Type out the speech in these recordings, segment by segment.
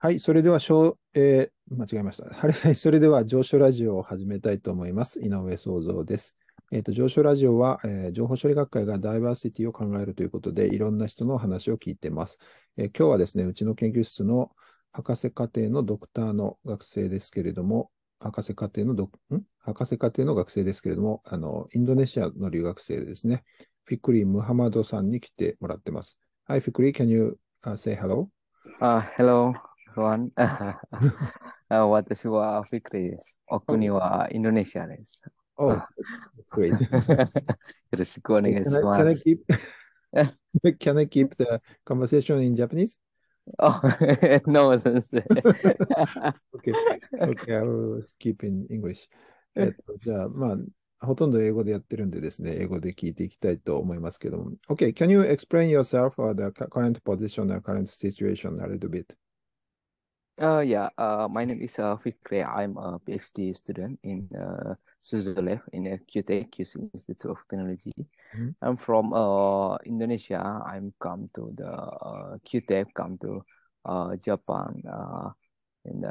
はい、それでは、間違えました。はい、それでは、上昇ラジオを始めたいと思います。井上創造です。上昇ラジオは、情報処理学会がダイバーシティを考えるということで、いろんな人の話を聞いています。今日はですね、うちの研究室の博士課程のドクターの学生ですけれども、博士課程の学生ですけれども、インドネシアの留学生でですね、フィクリ・ムハマドさんに来てもらってます。はい、フィクリ、can you say hello? Hello, everyone. 私はフィクリです。お国はインドネシアです。 Oh, great. よろしくお願い Can し I, can ます。 I keep can I keep the conversation in Japanese? Oh, no, 先生。 Okay. Okay, I will keep in English. じゃあ、ほとんど英語でやってるんでですね、英語で聞いていきたいと思いますけども。Okay, can you explain yourself or the current position or current situation a little bit? My name is Fikri. I'm a PhD student in Switzerland in a QTech, QC Institute of Technology. Mhm. I'm from Indonesia. I'm come to the QTech, come to Japan in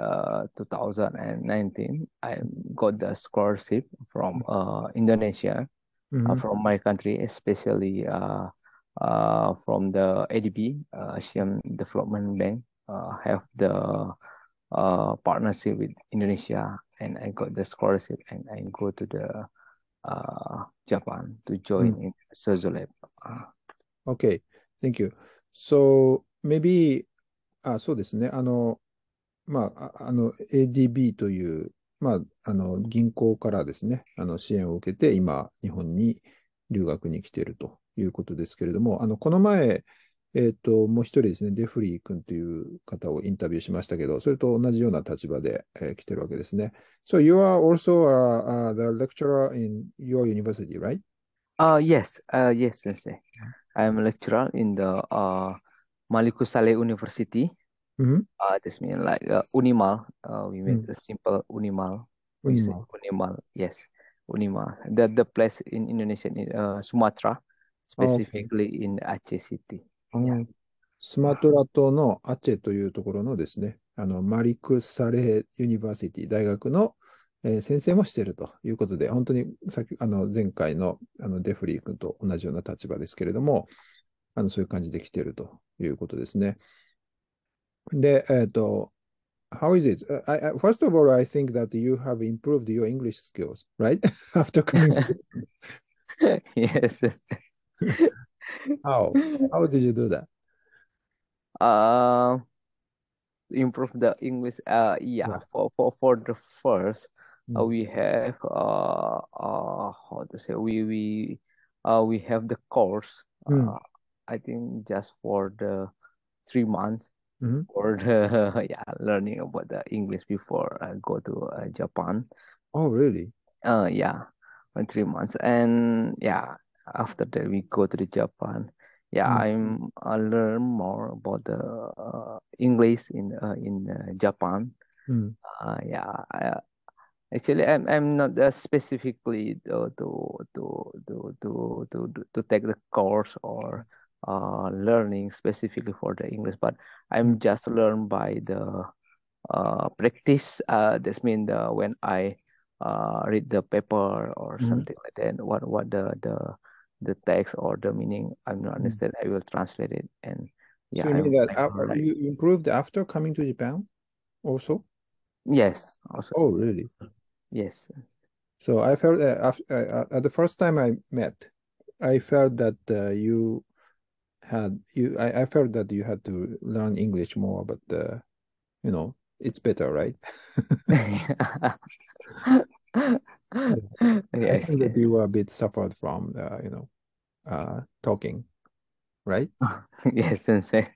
2019. I got the scholarship from Indonesia, Mhm. from my country, especially from the ADB, Asian Development Bank, have the partnership with Indonesia, and I got the scholarship, and I go to the Japan to うん。 join in Sozolab. Uh, Okay, thank you. So, maybe, そうですね。ADB という、銀行からですね、支援を受けて、今、日本に留学に来ているということですけれども、この前、もう一人ですね、デフリー君という方をインタビューしましたけど、それと同じような立場で、来てるわけですね。So you are also the lecturer in your university, right? yes, sensei. I'm a lecturer in the Maliku Saleh University. Mm-hmm. This means like Unimal. We made Mm. a simple Unimal. We say Unima. Unimal. Yes, Unimal. The place in Indonesia, in Sumatra, Okay. specifically in Aceh City. う Yeah. ん。スマトラ島のアチェというところのですね、マリク・サレー・ユニバーシティ大学の、先生もしているということで、本当に前回の、デフリー君と同じような立場ですけれども、そういう感じで来ているということですね。で、how is it? First of all, I think that you have improved your English skills, right? After coming to Yes. how? How did you do that? Uh, improve the English. Yeah. Yeah. For the first, Mm. we have how to say we have the course. Mm. I think just for the 3 months Mhm. for the yeah learning about the English before I go to Japan. Oh, really? Yeah, for 3 months, and yeah, after that we go to the Japan. Yeah, Mm. I learn more about the English in Japan. Mm. Yeah, actually, I'm not specifically to take the course or learning specifically for the English, but Mm. I'm just learn by the practice. This means when I read the paper or Mhm. something like that, what the text or the meaning I'm not Mm. understand, I will translate it, and So yeah, you mean that I will write. you improved after coming to Japan also? Yes, also Oh, really? yes. So I felt at the first time I met, I felt that I felt that you had to learn English more, but it's better, right? Yeah. I Yes, think that yes. you were a bit suffered from talking, right? Yes, sensei.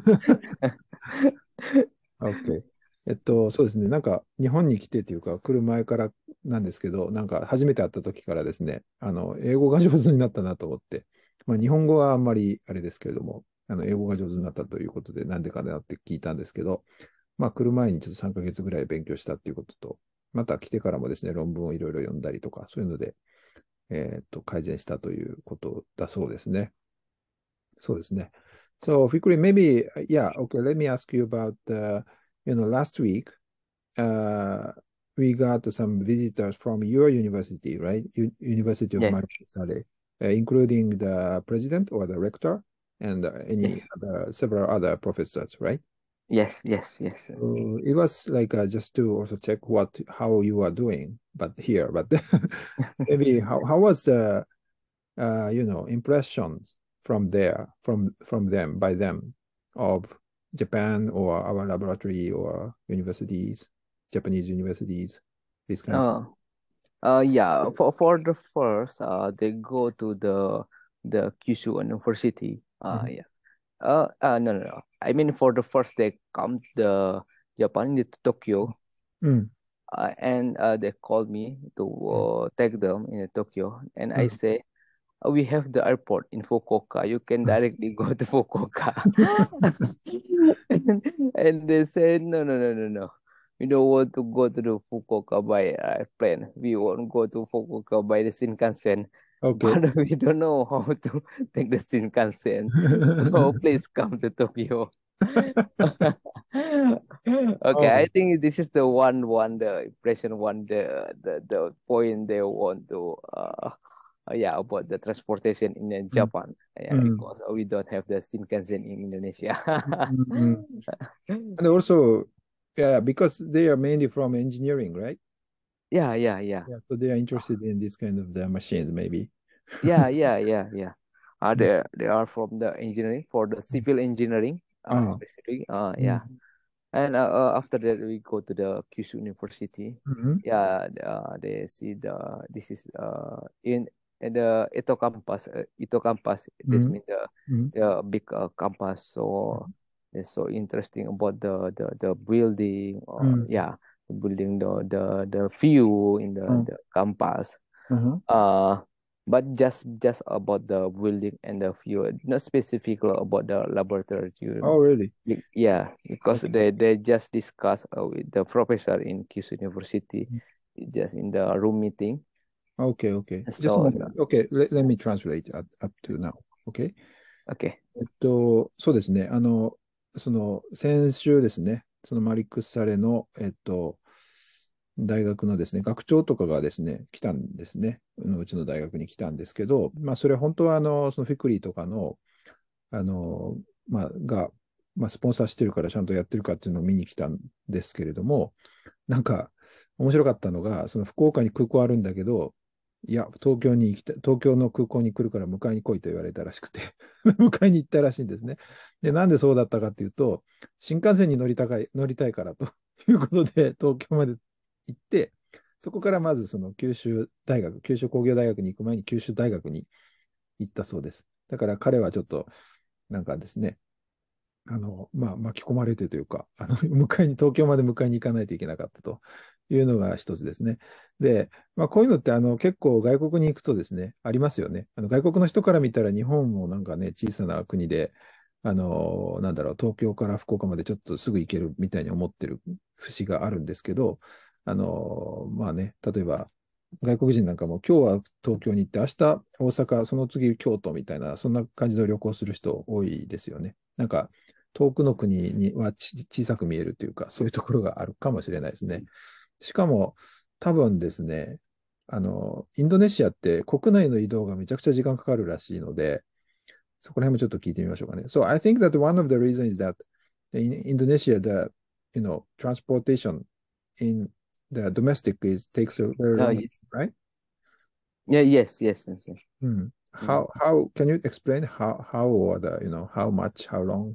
OK。そうですね。なんか、日本に来てというか、来る前からなんですけど、なんか、初めて会った時からですね、英語が上手になったなと思って、日本語はあんまりあれですけれども、英語が上手になったということで、なんでかなって聞いたんですけど、来る前にちょっと3ヶ月ぐらい勉強したっていうことと、また来てからもですね、論文をいろいろ読んだりとか、そういうので、改善したということだそうですね。そうですね。 So, Fikri, maybe, yeah, okay, let me ask you about, last week, uh, we got some visitors from your university, right? University of Yes, Maricasale, including the president or the rector and yes, any other, several other professors, right? yes, yes, yes, yes. It was like just to also check how you are doing, but here, but maybe how was the impressions from there, from them, by them, of Japan or our laboratory or universities, Japanese universities, these kind of things. Uh, yeah. For the first, they go to the Kyushu University. Mhm. Yeah. No, no, no. I mean, for the first, they come to Japan, to Tokyo, Mm, and they called me to mm, take them in Tokyo, and I mm, say, we have the airport in Fukuoka. You can mm. directly go to Fukuoka. and they said, no, no, no, no, no. We don't want to go to the Fukuoka by plane. We won't go to Fukuoka by the Shinkansen. Okay. But we don't know how to take the Shinkansen. So please come to Tokyo. Okay, I Oh, think this is the the impression the point they want to yeah, about the transportation in mm, Japan. Yeah, mm, because we don't have the Shinkansen in Indonesia. mm, mm. And also, yeah, because they are mainly from engineering, right? Yeah, yeah, yeah. Yeah, so they are interested in this kind of the machines, maybe. Yeah, yeah, yeah, yeah. Mm, They are from the engineering for the mm. civil engineering, Ah, specifically. mm, Yeah. And after that, we go to the Kyushu University. mhm, Yeah, they see this is in the Ito campus. This mhm, means mhm, the big campus. So it's so interesting about the building. mhm, Yeah, the building, the view in mhm, the campus. mhm. Uh, but just about the building and the view, not specifically about the laboratory. Oh, really? Yeah, because Okay. they just discuss with the professor in Kyushu University, just in the room meeting. Okay, okay. Just a So moment. Okay, let me translate up to now. Okay. okay. そうですね。先週ですね、そのマリックスサレの、大学のですね、学長とかがですね、来たんですね。うちの大学に来たんですけど、まあ、それ本当は、そのフィクリーとかの、あの、が、スポンサーしてるからちゃんとやってるかっていうのを見に来たんですけれども、なんか、面白かったのが、その福岡に空港あるんだけど、いや、東京の空港に来るから迎えに来いと言われたらしくて迎えに行ったらしいんですね。で、なんでそうだったかっていうと、新幹線に乗りたいからということで、東京まで行って、そこからまずその九州工業大学に行く前に九州大学に行ったそうです。だから彼はちょっと、なんかですね、巻き込まれてというか、東京まで迎えに行かないといけなかったというのが一つですね。で、こういうのって結構外国に行くとですね、ありますよね。外国の人から見たら日本もなんかね、小さな国で、なんだろう、東京から福岡までちょっとすぐ行けるみたいに思ってる節があるんですけど、例えば、外国人なんかも今日は東京に行って、明日大阪、その次京都みたいな、そんな感じの旅行する人多いですよね。なんか、遠くの国には小さく見えるというか、そういうところがあるかもしれないですね。しかも、多分ですね、インドネシアって国内の移動がめちゃくちゃ時間かかるらしいので、そこら辺もちょっと聞いてみましょうかね。So I think that one of the reasons is that in Indonesia, transportation in the domestic takes a very long, Yes. right? Yeah. Yes. Yes. Yes. Yes. Hmm. Mm. How can you explain how or how much, how long?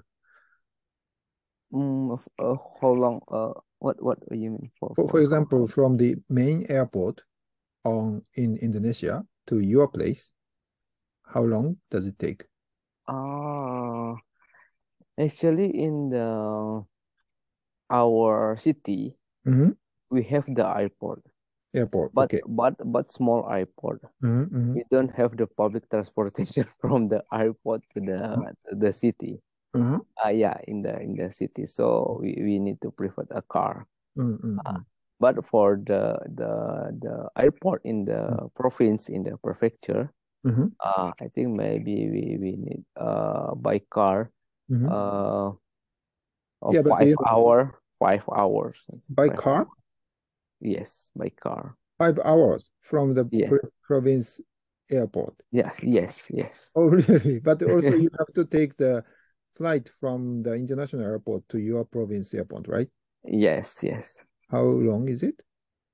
How long? What do you mean For for how? example, from the main airport in Indonesia to your place, how long does it take? Ah, actually, in the our city, Hmm. we have the airport, Airport, okay. but small airport. Hmm. Hmm. We don't have the public transportation from the airport to the city. Hmm. Yeah, in the city. So we need to prefer a car. Uh, Hmm. but for the airport in the province in the prefecture, Hmm. I think maybe we need by car. Mhm. uh, Yeah, but do five you have hour, 5 hours, by 5 hours. car? Yes, by car. 5 hours from the Yeah. province airport. Yes. Yes. Yes. Oh, really? But also you have to take the flight from the international airport to your province airport, right? Yes. Yes. How long is it?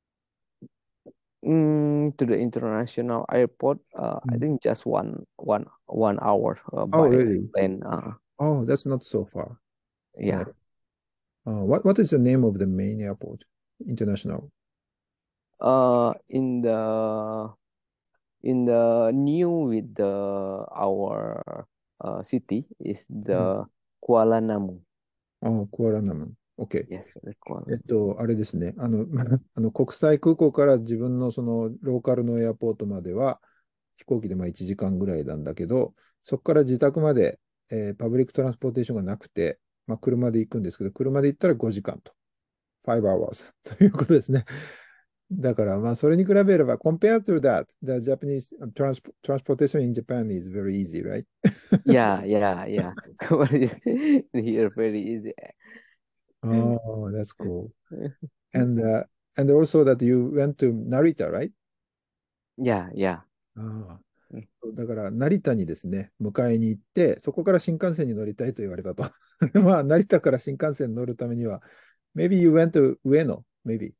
To the international airport, I Mm. think just one hour Oh, by really? plane. Oh, that's not so far. Yeah. Right. What is the name of the main airport? International. In the new with the our city is Mm. the Kuala Namu. クアラナム。OK。 Yes, the Kuala Namu. あれですね。国際空港から自分のそのローカルのエアポートまでは飛行機でまあ1時間ぐらいなんだけど、そこから自宅まで、パブリックトランスポーテーションがなくて、まあ、車で行くんですけど、車で行ったら5時間と。5 hours ということですね。だから、まあ、それに比べれば、compared to that, the Japanese transportation in Japan is very easy, right? Yeah, yeah, yeah. Here very easy. Oh, that's cool. And uh, and also that you went to Narita, right? Yeah, yeah. あだから、成田にですね、迎えに行って、そこから新幹線に乗りたいと言われたと。まあ、成田から新幹線に乗るためには、maybe you went to 上野、maybe.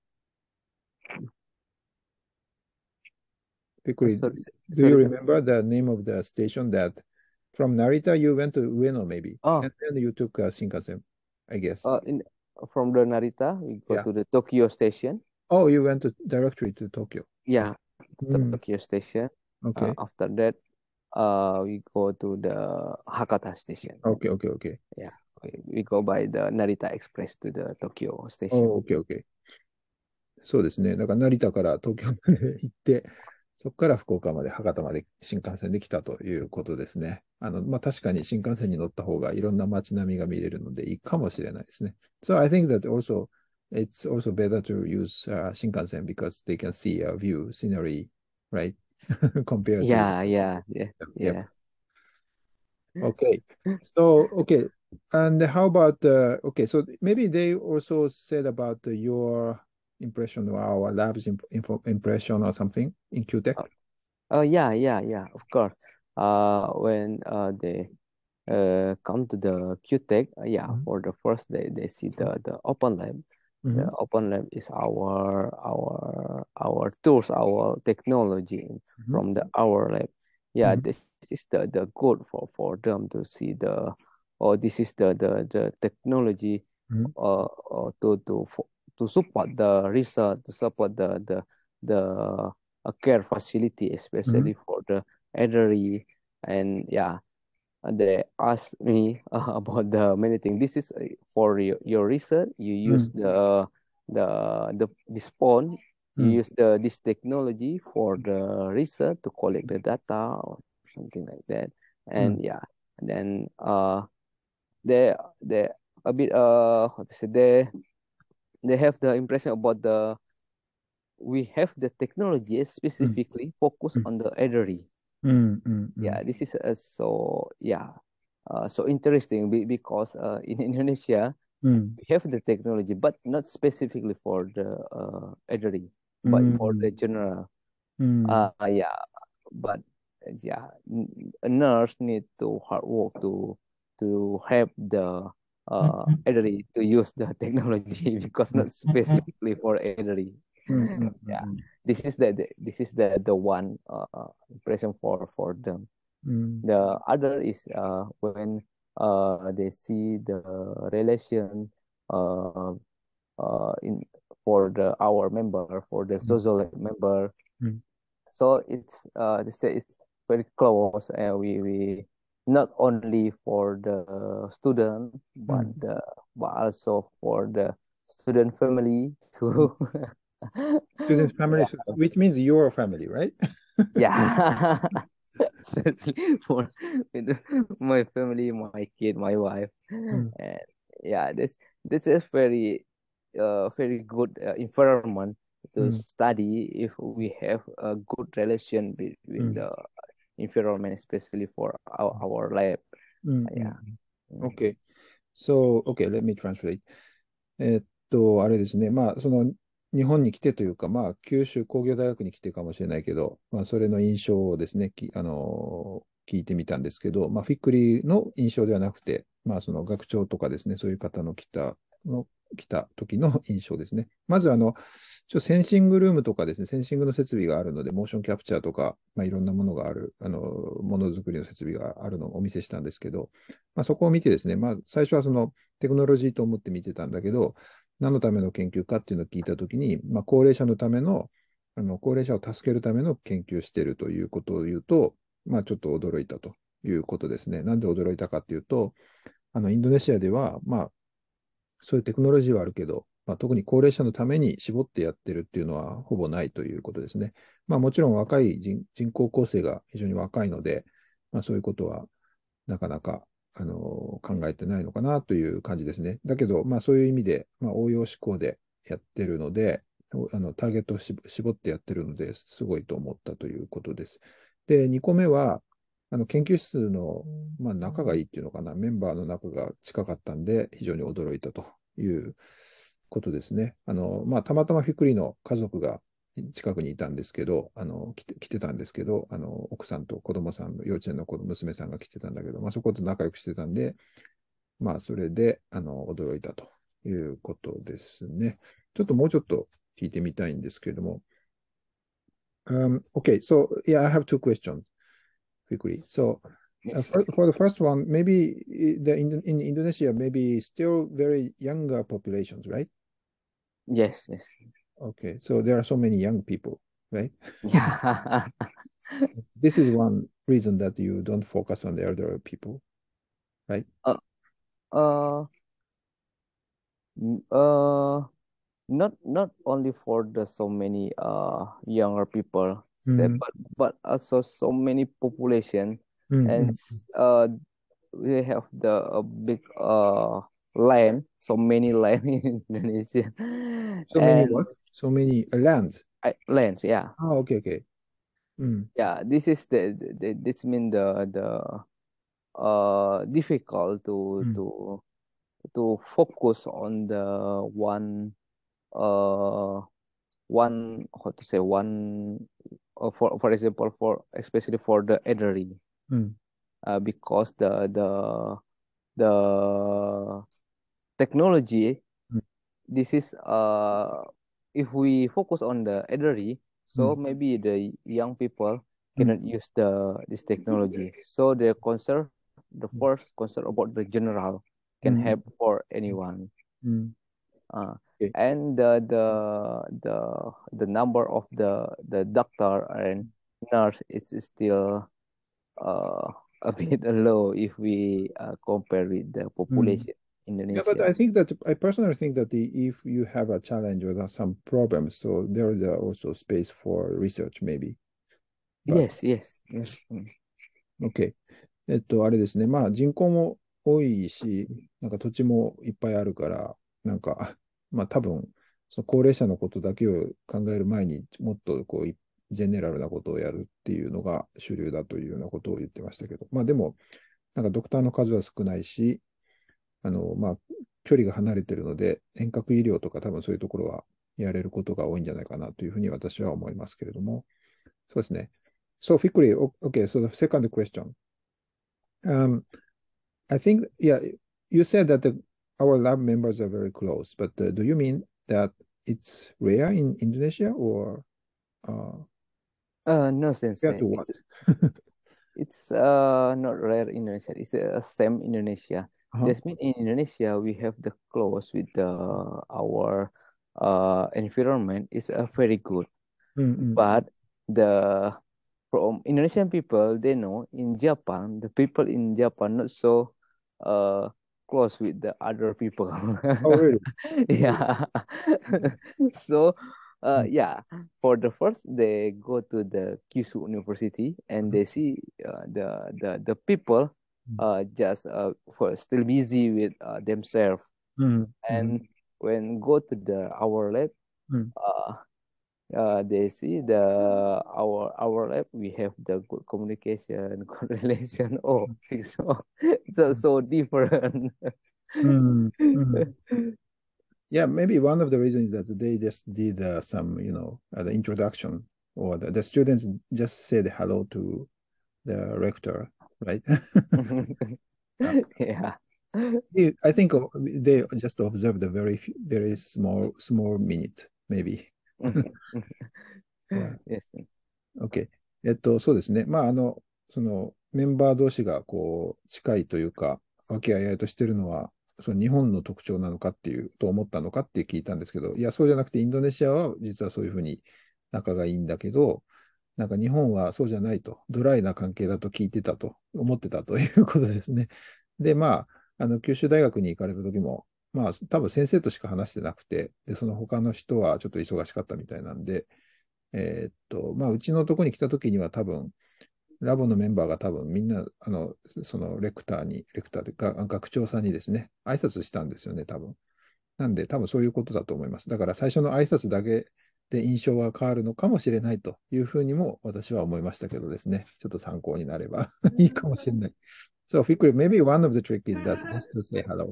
Because Sorry, do you sorry, sir. remember the name of the station that from Narita you went to Ueno, maybe, Oh, and then you took Shinkansen, I guess. in from the Narita, we go Yeah. to the Tokyo station. Oh, you went directly to Tokyo. Yeah, Mm, Tokyo station. okay. After that, we go to the Hakata station. Okay, okay, okay. Yeah, we go by the Narita Express to the Tokyo station. Oh, okay, okay. そうですね。だから成田から東京まで行って、そこから福岡まで、博多まで新幹線で来たということですね。まあ、確かに新幹線に乗った方がいろんな街並みが見れるのでいいかもしれないですね。So I think that also it's also better to use 新幹線 because they can see a view, scenery, right? Compared to Yeah, yeah, yeah, yep. yeah. Okay. So, okay. And how about, okay, so maybe they also said about your impression or our lab's impression or something in QTech. Yeah, yeah, yeah, of course. When they come to the QTech, yeah, Mhm. for the first day they see the open lab. The Mhm. open lab is our tools, our technology Mhm. from the our lab. Yeah, Mhm. this is the good for them to see or this is the technology Mhm. to support the research, to support the care facility, Mhm. especially for the elderly. And yeah, they asked me about the many things. This is for your research. You use Mhm. this phone. You Mhm. use this technology for the research to collect the data or something like that. Mhm. And yeah, and then they a bit how to say they have the impression about we have the technology Mhm. specifically focused on the elderly. Mhm. Mhm. Mhm. Yeah, this is so interesting because in Indonesia Mhm. we have the technology, but not specifically for the elderly, but for the Mhm. general. Mhm. Yeah, but yeah, a nurse need to hard work to help the elderly to use the technology because not specifically for elderly. Mhm. Mhm. Yeah, Mhm. this is the one impression for them. Mhm. The other is when they see the relation uh, in for the our member for the Mhm. social member. Mhm. So it's they say it's very close, and we not only for the student Mhm. but also for the student family Mhm. too. Students' families, Yeah, which means your family, right? yeah. Especially for with my family, my kid, my wife, Mm, and yeah, this is very good environment to mm, study if we have a good relation between mm, the environment, especially for our lab. mm, Yeah, mm. Okay. So, okay, let me translate. あれですね。まあ、日本に来てというか、まあ、九州工業大学に来てかもしれないけど、まあ、それの印象をですね、聞いてみたんですけど、まあ、フィックリの印象ではなくて、まあ、その学長とかですね、そういう方来た時の印象ですね。まず、センシングルームとかですね、センシングの設備があるので、モーションキャプチャーとか、まあ、いろんなものがある、ものづくりの設備があるのをお見せしたんですけど、まあ、そこを見てですね、まあ、最初はテクノロジーと思って見てたんだけど、何のための研究かっていうのを聞いたときに、まあ、高齢者のための、高齢者を助けるための研究をしているということを言うと、まあ、ちょっと驚いたということですね。なんで驚いたかっていうと、インドネシアでは、まあ、そういうテクノロジーはあるけど、まあ、特に高齢者のために絞ってやってるっていうのはほぼないということですね。まあ、もちろん若い人口構成が非常に若いので、まあ、そういうことはなかなか考えてないのかなという感じですね。だけど、まあ、そういう意味で、まあ、応用思考でやってるので、ターゲットを絞ってやってるのですごいと思ったということです。で、2個目は、研究室の、まあ、仲がいいっていうのかな、メンバーの仲が近かったんで、非常に驚いたということですね。まあ、たまたまフィクリの家族が近くにいたんですけど、来てたんですけど、奥さんと子供さんの幼稚園の娘さんが来てたんだけど、まあ、そこと仲良くしてたんで、まあ、それで、驚いたということですね。ちょっともうちょっと聞いてみたいんですけれども、okay, so yeah, I have two questions quickly. So, for the first one, maybe in Indonesia, maybe still very younger populations, right? Yes, yes. Okay, so there are so many young people, right? Yeah. This is one reason that you don't focus on the elder people, right? uh, uh, n- uh, not only for the so many younger people, say, Mm, but also so many population, mm, and mm. we have the big land, so many land in Indonesia, So many and what? So many lands. lands, yeah. Oh, okay, okay. Mm, Yeah, this is this mean the difficult mm, to focus on the one uh one how to say one for example, for especially for the elderly, mm, because the technology, mm, this is if we focus on the elderly, so mm, maybe the young people mm, cannot use this technology, so the concern, the first concern about the general can mm, help for anyone. mm. uh, Okay. and the number of the doctor and nurse is still uh, a bit low if we compare with the Mm. population in Yeah, but Indonesia. I think that I personally think that if you have a challenge or some problems, so there is also space for research maybe. But Yes, yes, yes. OK。あれですね。まあ人口も多いし、なんか土地もいっぱいあるから、なんか、まあ多分、その高齢者のことだけを考える前にもっとこう、ジェネラルなことをやるっていうのが主流だというようなことを言ってましたけど、まあでも、なんかドクターの数は少ないし、まあ、距離が離れてるので、遠隔医療とか多分そういうところはやれることが多いんじゃないかなというふうに私は思いますけれども、そうですね。So, Fikri, okay, so the second question. Um, I think, yeah, you said that our lab members are very close, but do you mean that it's rare in Indonesia or uh, No sense. rare to what? It's not rare in Indonesia. It's same Indonesia. Uh-huh. Just mean in Indonesia we have the close with the our environment is very good. Mm-mm. But the from Indonesian people, they know in Japan, the people in Japan not so uh close with the other people. Oh, really? Really? Yeah. So Mm, yeah, for the first they go to the Kyushu University and uh-huh. they see the people just for still busy with themselves. Mm, mm, And when go to the our lab, mm, uh They see our lab. We have the good communication, good relation. Oh, so different. Mm, mm. Yeah, maybe one of the reasons is that they just did some, the introduction, or the students just said hello to the rector, right? Uh, Yeah. I think they just observed a very small minute, maybe. Yeah. Yes. OK。そうですね。まあ、そのメンバー同士がこう近いというか、和気あいあいとしてるのは、その日本の特徴なのかっていう、と思ったのかって聞いたんですけど、いや、そうじゃなくて、インドネシアは実はそういうふうに仲がいいんだけど、なんか日本はそうじゃないと、ドライな関係だと聞いてたと、思ってたということですね。で、まあ、九州大学に行かれた時も、まあ、多分先生としか話してなくて、で、その他の人はちょっと忙しかったみたいなんで、まあ、うちのとこに来たときには多分、ラボのメンバーが多分みんな、そのレクターでか、学長さんにですね、挨拶したんですよね、多分。なんで、多分そういうことだと思います。だから最初の挨拶だけで印象が変わるのかもしれないというふうにも私は思いましたけどですね、ちょっと参考になればいいかもしれない。So, Fikri, maybe one of the trick is that just to say hello.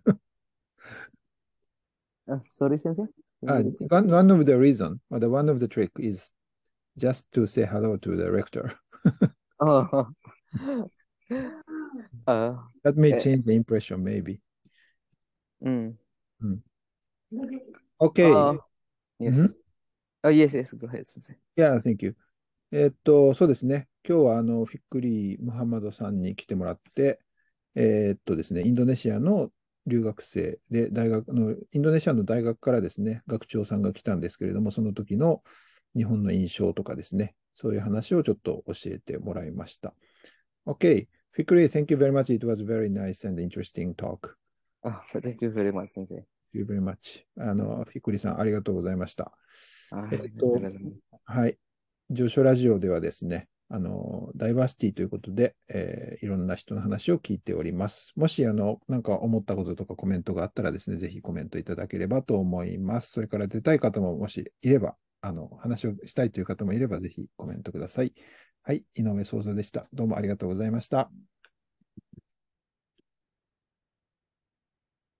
Sorry, Sensei. Can you repeat? One of the reason, or the one of the trick is just to say hello to the rector. Oh, uh, That may eh, change the impression, maybe. mm. うん。OK。 Oh, うん。 yes. Oh, yes, yes. Go ahead, Sensei. Yeah, thank you. そうですね。今日はフィックリー・ムハンマドさんに来てもらって、ですね、インドネシアの留学生で、インドネシアの大学からですね、学長さんが来たんですけれども、その時の日本の印象とかですね、そういう話をちょっと教えてもらいました。OK。Fikri, thank you very much. It was very nice and interesting talk. Oh, thank you very much, Sensei. Thank you very much. フィクリさん、ありがとうございました。えっ That's と、 relevant. はい。上昇ラジオではですね、ダイバーシティということで、いろんな人の話を聞いております。もし、なんか思ったこととかコメントがあったらですね、ぜひコメントいただければと思います。それから出たい方ももしいれば、話をしたいという方もいれば、ぜひコメントください。はい。井上創造でした。どうもありがとうございました。